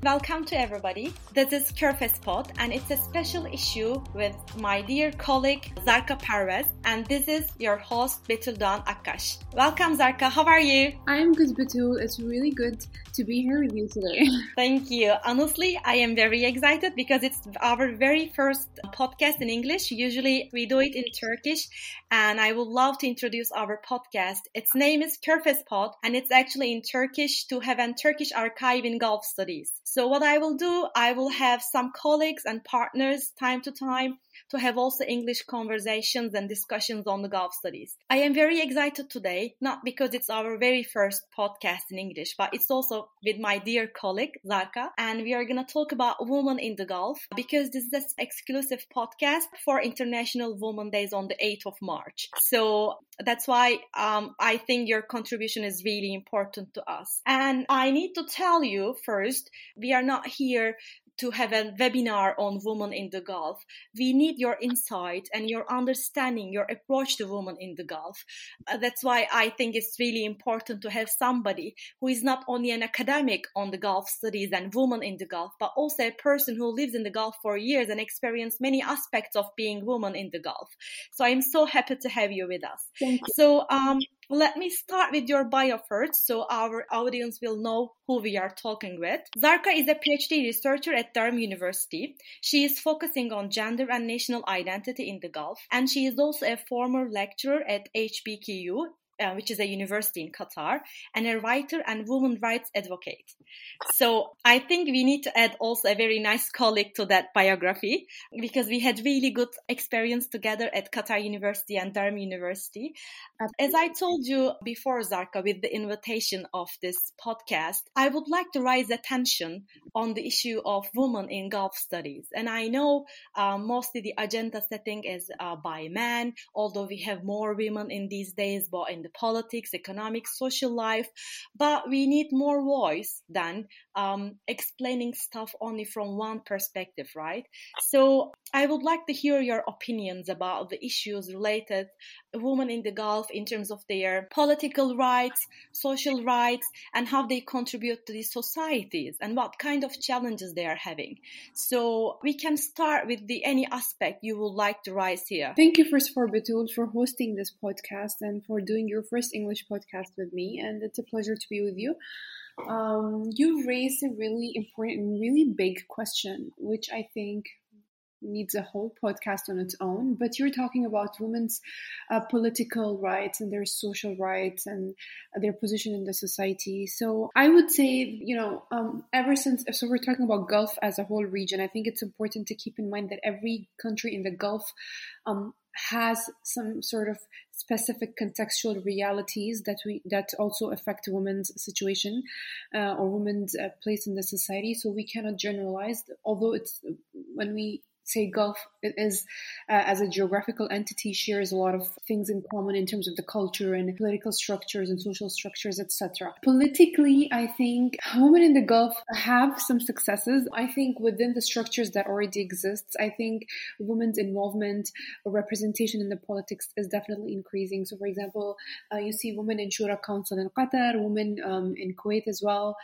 Welcome to everybody. This is Körfez Pod and it's a special issue with my dear colleague Zarka Parvez, and this is your host Betül Doğan Akkaş. Welcome Zarka, how are you? I'm good, Betül. It's really good to be here with you today. Thank you. Honestly, I am very excited because it's our very first podcast in English. Usually we do it in Turkish, and I would love to introduce our podcast. Its name is Körfez Pod and it's actually in Turkish to have a Turkish archive in Gulf studies. So what I will do, I will have some colleagues and partners time to time to have also English conversations and discussions on the Gulf studies. I am very excited today, not because it's our very first podcast in English, but it's also with my dear colleague, Zarka, and we are going to talk about women in the Gulf because this is an exclusive podcast for International Women Days on the 8th of March. So that's why I think your contribution is really important to us. And I need to tell you first, we are not here to have a webinar on women in the Gulf. We need your insight and your understanding, your approach to women in the Gulf. That's why I think it's really important to have somebody who is not only an academic on the Gulf studies and women in the Gulf, but also a person who lives in the Gulf for years and experienced many aspects of being woman in the Gulf. So I'm so happy to have you with us. Thank you. So let me start with your bio first, so our audience will know who we are talking with. Zarka is a PhD researcher at Durham University. She is focusing on gender and national identity in the Gulf, and she is also a former lecturer at HBKU, which is a university in Qatar, and a writer and women's rights advocate. So I think we need to add also a very nice colleague to that biography because we had really good experience together at Qatar University and Durham University. As I told you before, Zarka, with the invitation of this podcast, I would like to raise attention on the issue of women in Gulf studies. And I know mostly the agenda setting is by men, although we have more women in these days, but in the politics, economics, social life, but we need more voice than explaining stuff only from one perspective, right? So I would like to hear your opinions about the issues related to women in the Gulf in terms of their political rights, social rights, and how they contribute to these societies and what kind of challenges they are having. So we can start with any aspect you would like to raise here. Thank you first for Betül for hosting this podcast and for doing your first English podcast with me. And it's a pleasure to be with you. You've raised a really important and really big question, which I think needs a whole podcast on its own, but you're talking about women's political rights and their social rights and their position in the society. So I would say, ever since, so we're talking about Gulf as a whole region, I think it's important to keep in mind that every country in the Gulf has some sort of specific contextual realities that also affect women's situation or women's place in the society. So we cannot generalize, although when we say Gulf, it is as a geographical entity shares a lot of things in common in terms of the culture and political structures and social structures, etc. Politically, I think women in the Gulf have some successes. I think within the structures that already exist, I think women's involvement or representation in the politics is definitely increasing. So, for example, you see women in Shura Council in Qatar, women in Kuwait as well,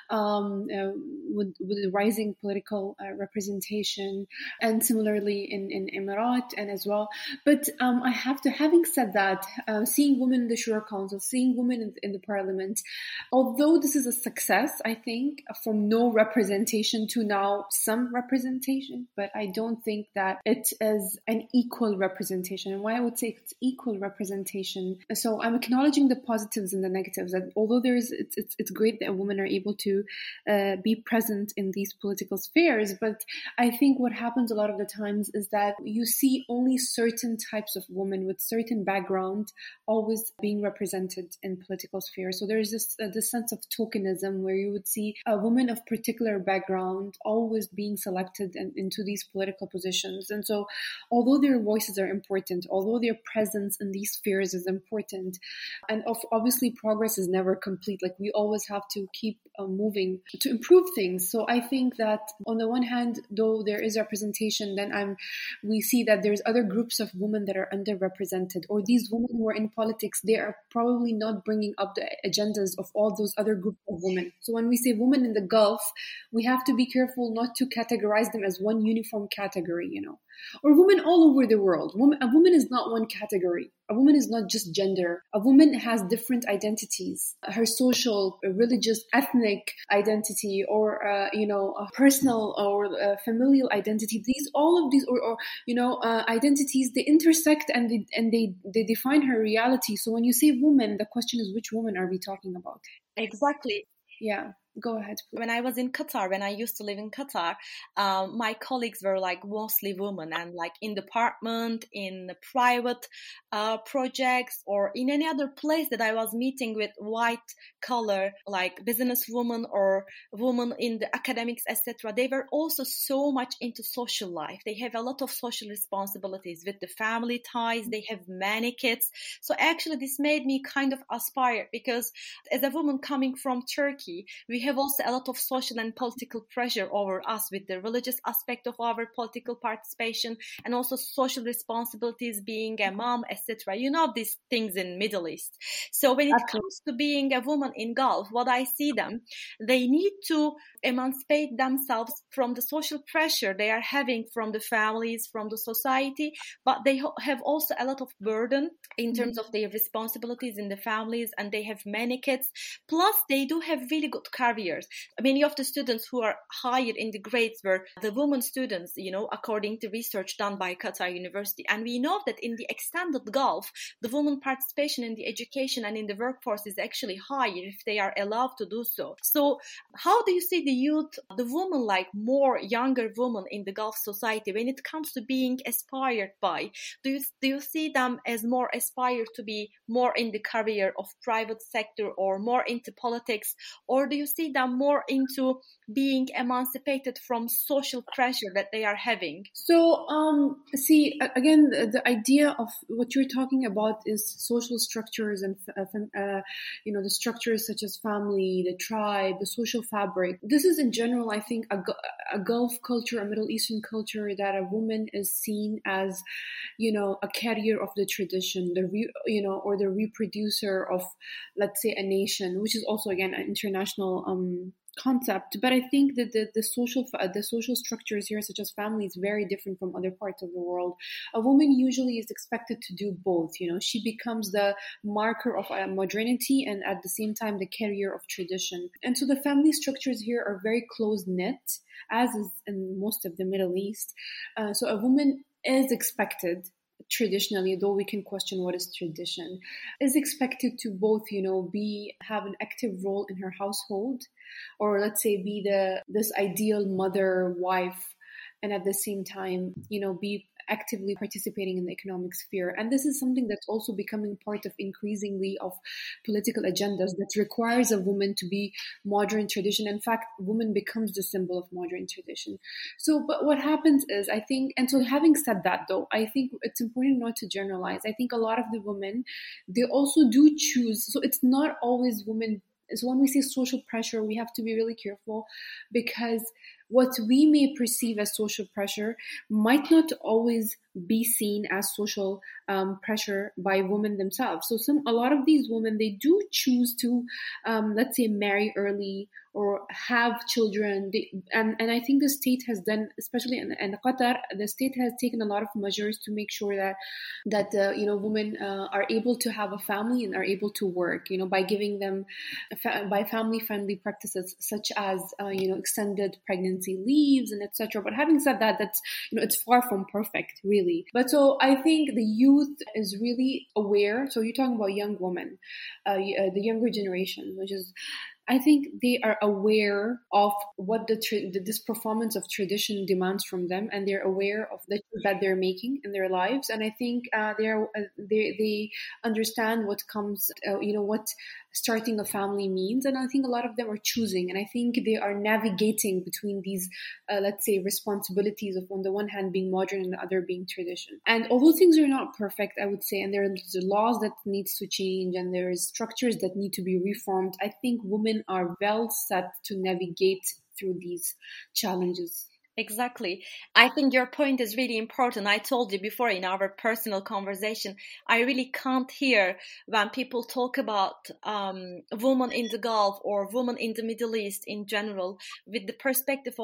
with rising political representation, and similarly in Emirat and as well. But having said that, seeing women in the Shura Council, seeing women in the parliament, although this is a success, I think, from no representation to now some representation, but I don't think that it is an equal representation. And why I would say it's equal representation. So I'm acknowledging the positives and the negatives. That although it's great that women are able to be present in these political spheres, but I think what happens a lot of the times is that you see only certain types of women with certain background always being represented in political spheres. So there's this sense of tokenism where you would see a woman of particular background always being selected into these political positions. And so although their voices are important, although their presence in these spheres is important, and obviously progress is never complete, like we always have to keep moving to improve things. So I think that on the one hand, though there is representation education, then we see that there's other groups of women that are underrepresented, or these women who are in politics, they are probably not bringing up the agendas of all those other groups of women. So when we say women in the Gulf, we have to be careful not to categorize them as one uniform category, or women all over the world. A woman is not one category. A woman is not just gender. A woman has different identities. Her social, religious, ethnic identity, or a personal or familial identity. All of these, identities, they intersect and they define her reality. So when you say woman, the question is, which woman are we talking about? Exactly. Yeah. Go ahead, please. When I was in Qatar, when I used to live in Qatar, my colleagues were like mostly women, and like in department, in private projects, or in any other place that I was meeting with white collar, like businesswomen or women in the academics, etc. They were also so much into social life. They have a lot of social responsibilities with the family ties. They have many kids. So actually this made me kind of aspire, because as a woman coming from Turkey, we have also a lot of social and political pressure over us with the religious aspect of our political participation, and also social responsibilities, being a mom, etc. These things in Middle East. So when it comes to being a woman in Gulf, what I see them, they need to emancipate themselves from the social pressure they are having from the families, from the society, but they have also a lot of burden in terms of their responsibilities in the families, and they have many kids. Plus, they do have really good careers. Many of the students who are higher in the grades were the women students, according to research done by Qatar University. And we know that in the extended Gulf, the women participation in the education and in the workforce is actually higher if they are allowed to do so. So how do you see the youth, the women, like more younger women in the Gulf society, when it comes to being aspired by? Do you see them as more aspired to be more in the career of private sector or more into politics, or do you see them more into being emancipated from social pressure that they are having? So, see, again, the idea of what you're talking about is social structures and, the structures such as family, the tribe, the social fabric. This is in general, I think, a Gulf culture, a Middle Eastern culture, that a woman is seen as, a carrier of the tradition, or the reproducer of, let's say, a nation, which is also, again, an international concept. But I think that the social structures here, such as family, is very different from other parts of the world. A woman usually is expected to do both. She becomes the marker of modernity and at the same time the carrier of tradition. And so the family structures here are very close knit, as is in most of the Middle East. So a woman is expected, traditionally, though we can question what is tradition, is expected to both, have an active role in her household, or let's say be this ideal mother, wife, and at the same time, be actively participating in the economic sphere. And this is something that's also becoming part of increasingly of political agendas that requires a woman to be modern tradition. In fact, woman becomes the symbol of modern tradition. So, but what happens is, I think, and so having said that though, I think it's important not to generalize. I think a lot of the women, they also do choose. So it's not always women. So when we say social pressure, we have to be really careful, because what we may perceive as social pressure might not always be seen as social pressure by women themselves. So a lot of these women, they do choose to, let's say, marry early or have children. And I think the state has done, especially in Qatar, the state has taken a lot of measures to make sure that women are able to have a family and are able to work, by giving them by family-friendly practices such as extended pregnancy leaves and etc. But having said that, that's it's far from perfect, really. But so I think the youth is really aware. So you're talking about young women, the younger generation, which is, I think they are aware of what this performance of tradition demands from them, and they're aware of the choice that they're making in their lives. And I think they understand what comes, what starting a family means. And I think a lot of them are choosing, and I think they are navigating between these, let's say, responsibilities of, on the one hand, being modern and the other being tradition. And although things are not perfect, I would say, and there are laws that needs to change, and there is structures that need to be reformed, I think women are well set to navigate through these challenges. Exactly. I think your point is really important. I told you before in our personal conversation, I really can't hear when people talk about women in the Gulf or women in the Middle East in general, with the perspective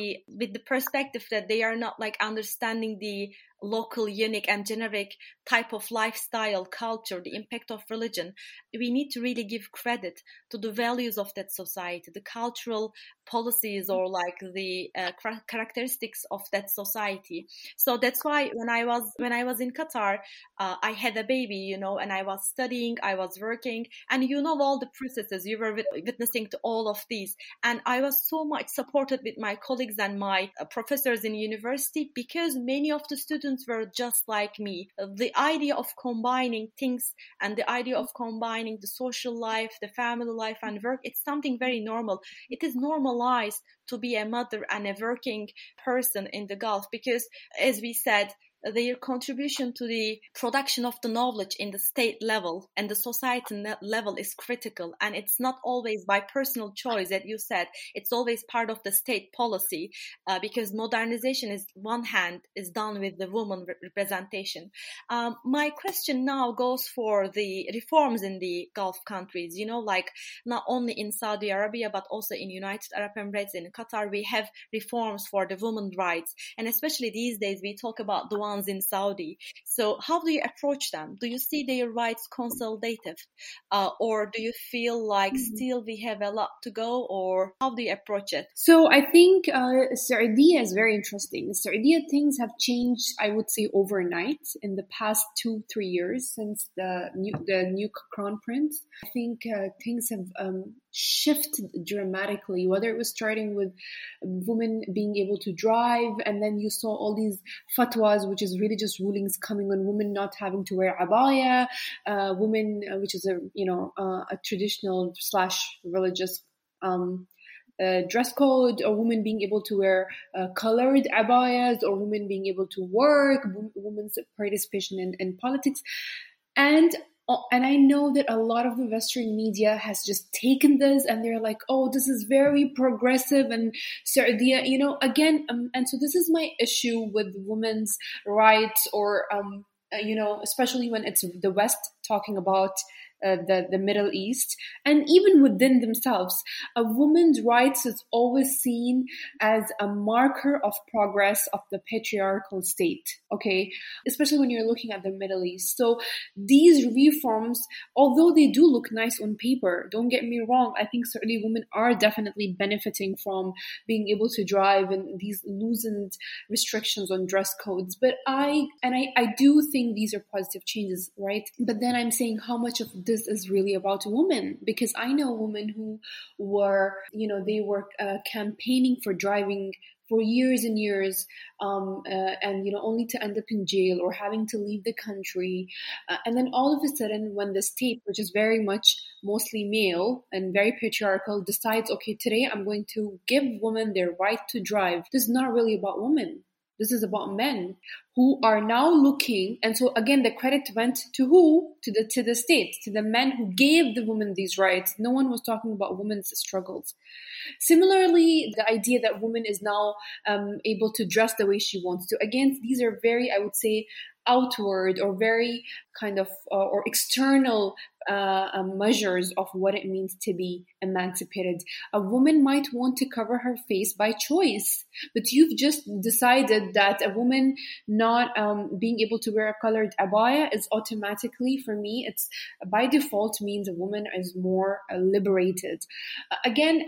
that they are not like understanding the local, unique, and generic type of lifestyle, culture, the impact of religion. We need to really give credit to the values of that society, the cultural policies, or like the characteristics of that society. So that's why when I was in Qatar, I had a baby, and I was studying, I was working, and all the processes. You were witnessing to all of these, and I was so much supported with my colleagues and my professors in university, because many of the students were just like me. The idea of combining things and the idea of combining the social life, the family life, and work, it's something very normal. It is normalized to be a mother and a working person in the Gulf, because, as we said, their contribution to the production of the knowledge in the state level and the society level is critical. And it's not always by personal choice, that you said. It's always part of the state policy, because modernization is done with the woman representation. My question now goes for the reforms in the Gulf countries, like not only in Saudi Arabia, but also in United Arab Emirates, in Qatar, we have reforms for the women's rights. And especially these days, we talk about the ones in Saudi. So how do you approach them? Do you see their rights consolidated? Or do you feel like still we have a lot to go? Or how do you approach it? So I think Saudi is very interesting. Saudi, things have changed, I would say, overnight in the past 2-3 years since the new crown prince. I think things have shifted dramatically, whether it was starting with women being able to drive, and then you saw all these fatwas, which is really just rulings coming on women not having to wear abaya, women, which is a traditional / religious dress code, or women being able to wear colored abayas, or women being able to work, women's participation in politics. And I know that a lot of the Western media has just taken this and they're like, oh, this is very progressive and Saudi, again. And so this is my issue with women's rights, or, especially when it's the West talking about the Middle East, and even within themselves, a woman's rights is always seen as a marker of progress of the patriarchal state, okay? Especially when you're looking at the Middle East. So these reforms, although they do look nice on paper, don't get me wrong, I think certainly women are definitely benefiting from being able to drive and these loosened restrictions on dress codes. But I do think these are positive changes, right? But then I'm saying, how much of this is really about women? Because I know women who were, they were campaigning for driving for years and years, and only to end up in jail or having to leave the country, and then all of a sudden, when the state, which is very much mostly male and very patriarchal, decides, okay, today I'm going to give women their right to drive, this is not really about women. This is about men who are now looking, and so again, the credit went to who? To the state, to the men who gave the women these rights. No one was talking about women's struggles. Similarly, the idea that woman is now able to dress the way she wants to. Again, these are very, I would say, outward or very kind of or external measures of what it means to be emancipated. A woman might want to cover her face by choice, but you've just decided that a woman not being able to wear a colored abaya is automatically, for me, it's by default means a woman is more liberated. Again,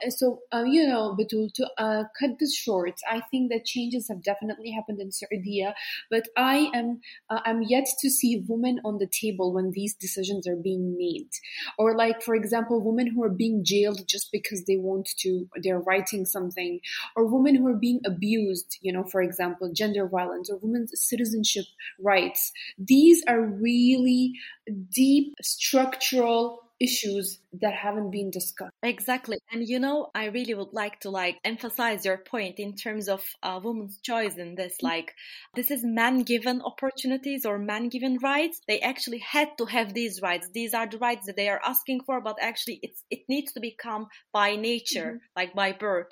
Batul, to cut this short, I think that changes have definitely happened in Saudi, but I'm yet to see women on the table when these decisions are being made. Or like, for example, women who are being jailed just because they're writing something, or women who are being abused, for example, gender violence or women's citizenship rights. These are really deep structural issues that haven't been discussed. Exactly. And I really would like to emphasize your point in terms of women's choice in this. This is man-given opportunities or man-given rights. They actually had to have these rights. These are the rights that they are asking for, but actually it needs to become by nature, by birth,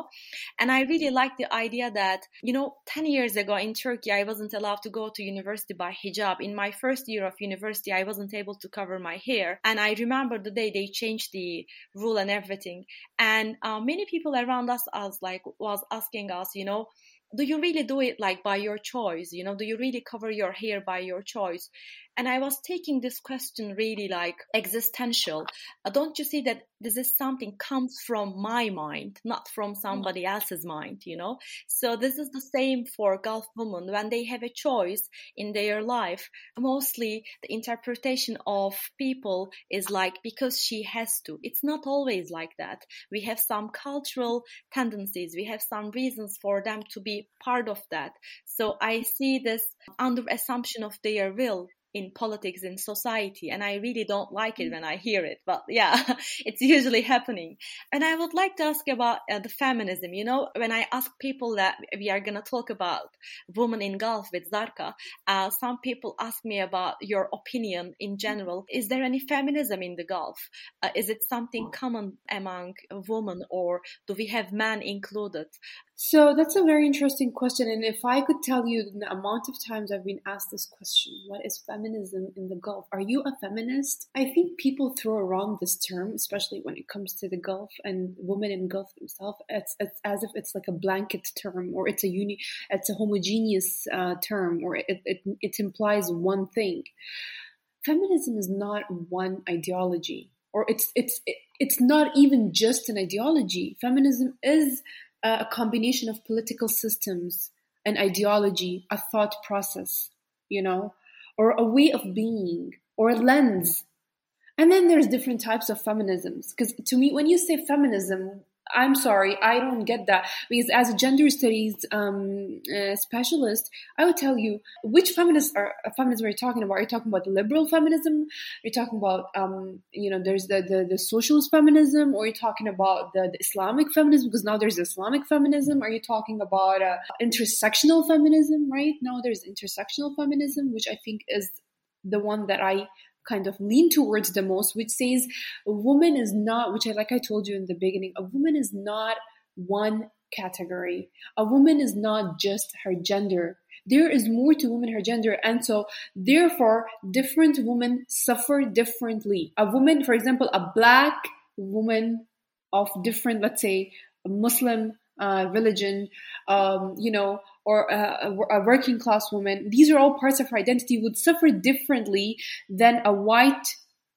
And I really like the idea that, 10 years ago in Turkey, I wasn't allowed to go to university by hijab. In my first year of university, I wasn't able to cover my hair. And I remember the day they changed the rule and everything. And many people around us was asking us, do you really do it by your choice? Do you really cover your hair by your choice? And I was taking this question really existential. Don't you see that this is something comes from my mind, not from somebody else's mind, So this is the same for Gulf women. When they have a choice in their life, mostly the interpretation of people is because she has to. It's not always like that. We have some cultural tendencies. We have some reasons for them to be part of that. So I see this under assumption of their will in politics, in society, and I really don't like it when I hear it, but yeah, it's usually happening. And I would like to ask about the feminism. When I ask people that we are going to talk about women in Gulf with Zarka, some people ask me about your opinion in general. Is there any feminism in the Gulf? Is it something common among women, or do we have men included? So that's a very interesting question. And if I could tell you the amount of times I've been asked this question, what is feminism in the Gulf? Are you a feminist? I think people throw around this term, especially when it comes to the Gulf and women in Gulf themselves. It's as if it's like a blanket term, or it's a homogeneous term, or it implies one thing. Feminism is not one ideology, or it's not even just an ideology. Feminism is a combination of political systems, an ideology, a thought process, or a way of being, or a lens. And then there's different types of feminisms. Because to me, when you say feminism, I'm sorry, I don't get that. Because as a gender studies specialist, I would tell you which feminism are you talking about. Are you talking about liberal feminism? Are you talking about, there's the socialist feminism? Or are you talking about the Islamic feminism? Because now there's Islamic feminism. Are you talking about intersectional feminism? Right now there's intersectional feminism, which I think is the one that I kind of lean towards the most, which says a woman is not, like I told you in the beginning, a woman is not one category. A woman is not just her gender. There is more to women, her gender. And so therefore, different women suffer differently. A woman, for example, a black woman of different, let's say, Muslim religion, or a working class woman, these are all parts of her identity, would suffer differently than a white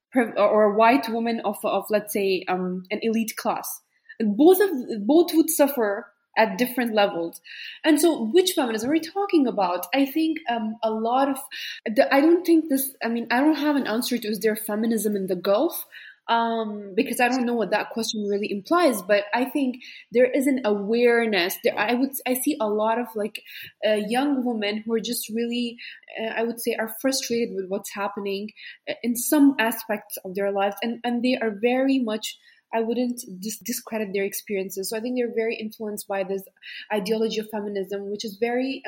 woman of let's say an elite class. Both would suffer at different levels. And so which feminism are we talking about? I think a lot of I don't have an answer to is there feminism in the Gulf, because I don't know what that question really implies, but I think there is an awareness there. I see a lot of young women who are just really, I would say, are frustrated with what's happening in some aspects of their lives, and they are very much, I wouldn't discredit their experiences. So I think they're very influenced by this ideology of feminism, which is very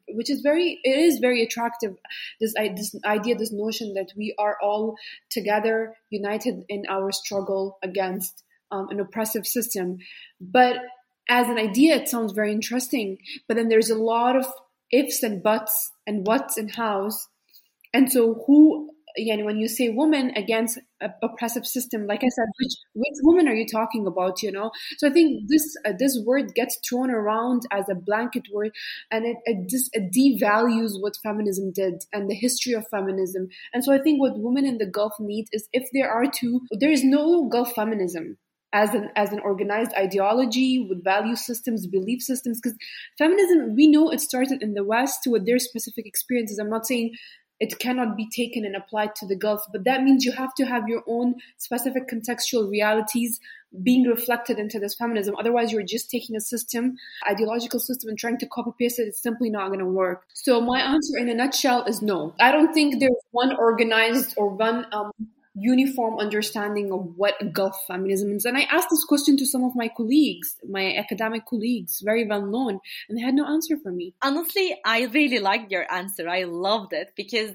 attractive. This idea, this notion that we are all together, united in our struggle against an oppressive system. But as an idea, it sounds very interesting. But then there's a lot of ifs and buts and whats and hows. And so when you say woman against an oppressive system, like I said, which woman are you talking about, So I think this word gets thrown around as a blanket word, and it devalues what feminism did and the history of feminism. And so I think what women in the Gulf need is, if there is no Gulf feminism as an organized ideology with value systems, belief systems, because feminism, we know it started in the West with their specific experiences. I'm not saying it cannot be taken and applied to the Gulf, but that means you have to have your own specific contextual realities being reflected into this feminism. Otherwise, you're just taking a system, ideological system, and trying to copy paste it. It's simply not going to work. So my answer in a nutshell is no. I don't think there's one organized or one uniform understanding of what Gulf feminism is. And I asked this question to some of my colleagues, my academic colleagues, very well known, and they had no answer for me. Honestly, I really liked your answer. I loved it because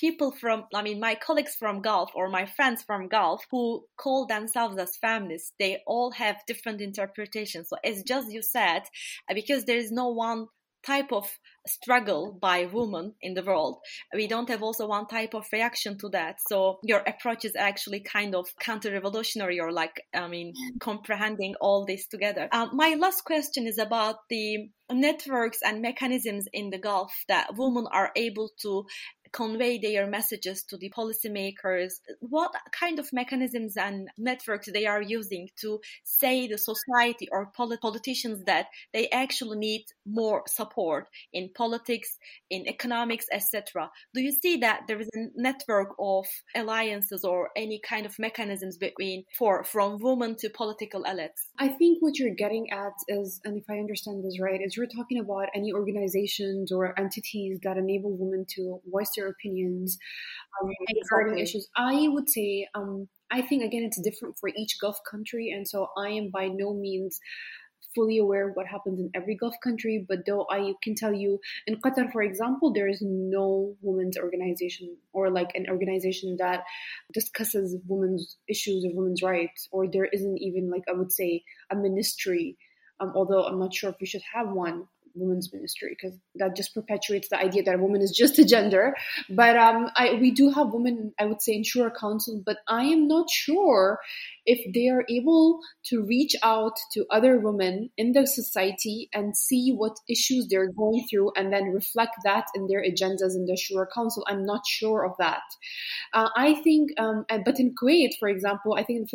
my colleagues from Gulf or my friends from Gulf who call themselves as feminists, they all have different interpretations. So it's just you said, because there is no one type of struggle by women in the world. We don't have also one type of reaction to that. So your approach is actually kind of counter-revolutionary or comprehending all this together. My last question is about the networks and mechanisms in the Gulf that women are able to convey their messages to the policymakers. What kind of mechanisms and networks they are using to say the society or politicians that they actually need more support in politics, in economics, etc. Do you see that there is a network of alliances or any kind of mechanisms from women to political elites? I think what you're getting at is, and if I understand this right, is you're talking about any organizations or entities that enable women to voice their opinions regarding issues. I would say, I think, again, it's different for each Gulf country. And so I am by no means fully aware of what happens in every Gulf country. But though I can tell you, in Qatar, for example, there is no women's organization or like an organization that discusses women's issues or women's rights. Or there isn't even, like, I would say, a ministry, although I'm not sure if we should have one. Women's ministry, because that just perpetuates the idea that a woman is just a gender. But we do have women, I would say, in Shura Council, but I am not sure if they are able to reach out to other women in the society and see what issues they're going through and then reflect that in their agendas in the Shura Council. I'm not sure of that. I think, but in Kuwait, for example, I think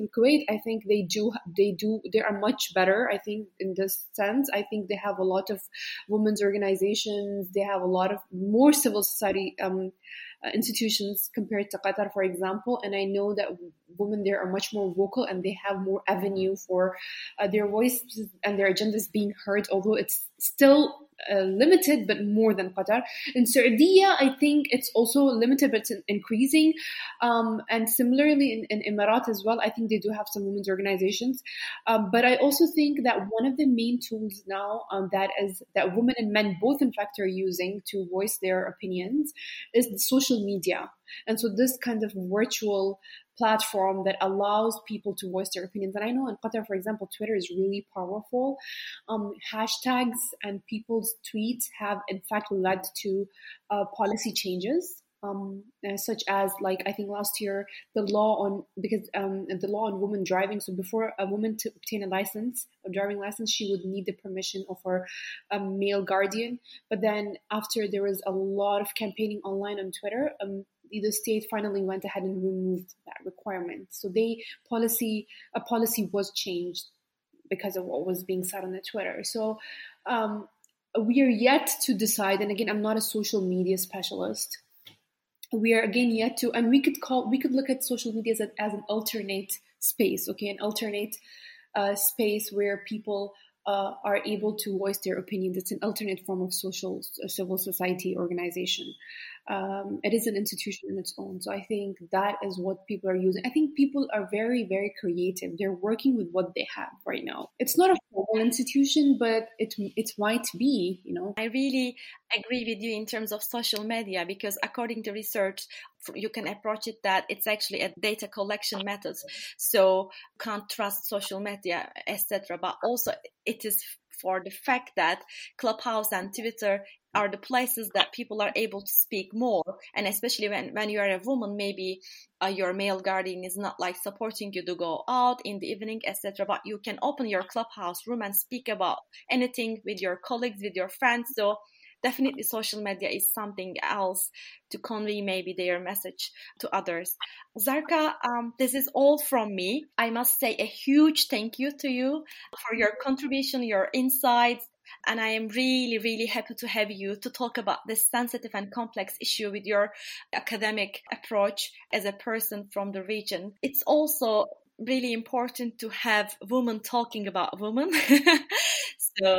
they are much better. I think in this sense, I think they have a lot of women's organizations. They have a lot of more civil society institutions compared to Qatar, for example. And I know that women there are much more vocal and they have more avenue for their voices and their agendas being heard, although it's still limited, but more than Qatar. In Saudi, I think it's also limited, but it's increasing. And similarly in Emirat as well, I think they do have some women's organizations. But I also think that one of the main tools now that women and men both, in fact, are using to voice their opinions is the social media. And so this kind of virtual platform that allows people to voice their opinions. And I know in Qatar, for example, Twitter is really powerful. Hashtags and people's tweets have, in fact, led to policy changes. Such as, like, I think last year, the law on women driving. So before a woman to obtain a driving license, she would need the permission of her male guardian. But then after there was a lot of campaigning online on Twitter, the state finally went ahead and removed that requirement. So a policy was changed because of what was being said on the Twitter. So we are yet to decide. And again, I'm not a social media specialist. We are again yet to, and we could look at social media as an alternate space, okay, an alternate space where people are able to voice their opinions. It's an alternate form of civil society organization. It is an institution in its own. So I think that is what people are using. I think people are very, very creative. They're working with what they have right now. It's not a formal institution, but it might be, you know. I really agree with you in terms of social media, because according to research, you can approach it that it's actually a data collection method. So you can't trust social media, etc. But also it is for the fact that Clubhouse and Twitter are the places that people are able to speak more. And especially when you are a woman, maybe your male guardian is not like supporting you to go out in the evening, etc. But you can open your Clubhouse room and speak about anything with your colleagues, with your friends. So definitely social media is something else to convey maybe their message to others. Zarqa, this is all from me. I must say a huge thank you to you for your contribution, your insights. And I am really, really happy to have you to talk about this sensitive and complex issue with your academic approach as a person from the region. It's also really important to have women talking about women. So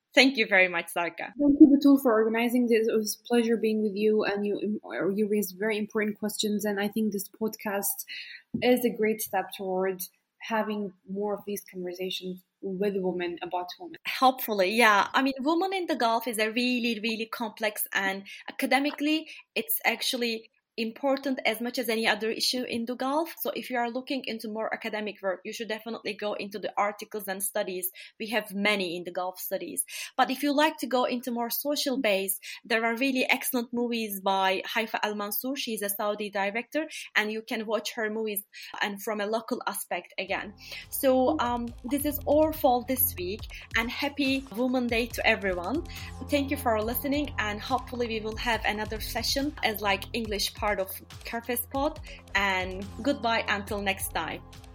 Thank you very much, Zarka. Thank you, Batul, for organizing this. It was a pleasure being with you, and you raised very important questions. And I think this podcast is a great step towards having more of these conversations with women about women. Hopefully, yeah. I mean, women in the Gulf is a really, really complex, and academically, it's actually important as much as any other issue in the Gulf. So if you are looking into more academic work, you should definitely go into the articles and studies. We have many in the Gulf studies. But if you like to go into more social base, there are really excellent movies by Haifa Al-Mansour. She's a Saudi director, and you can watch her movies and from a local aspect again. So this is all for this week, and happy Women's Day to everyone. Thank you for listening, and hopefully we will have another session as like English part of Kerfez Pod, and goodbye until next time.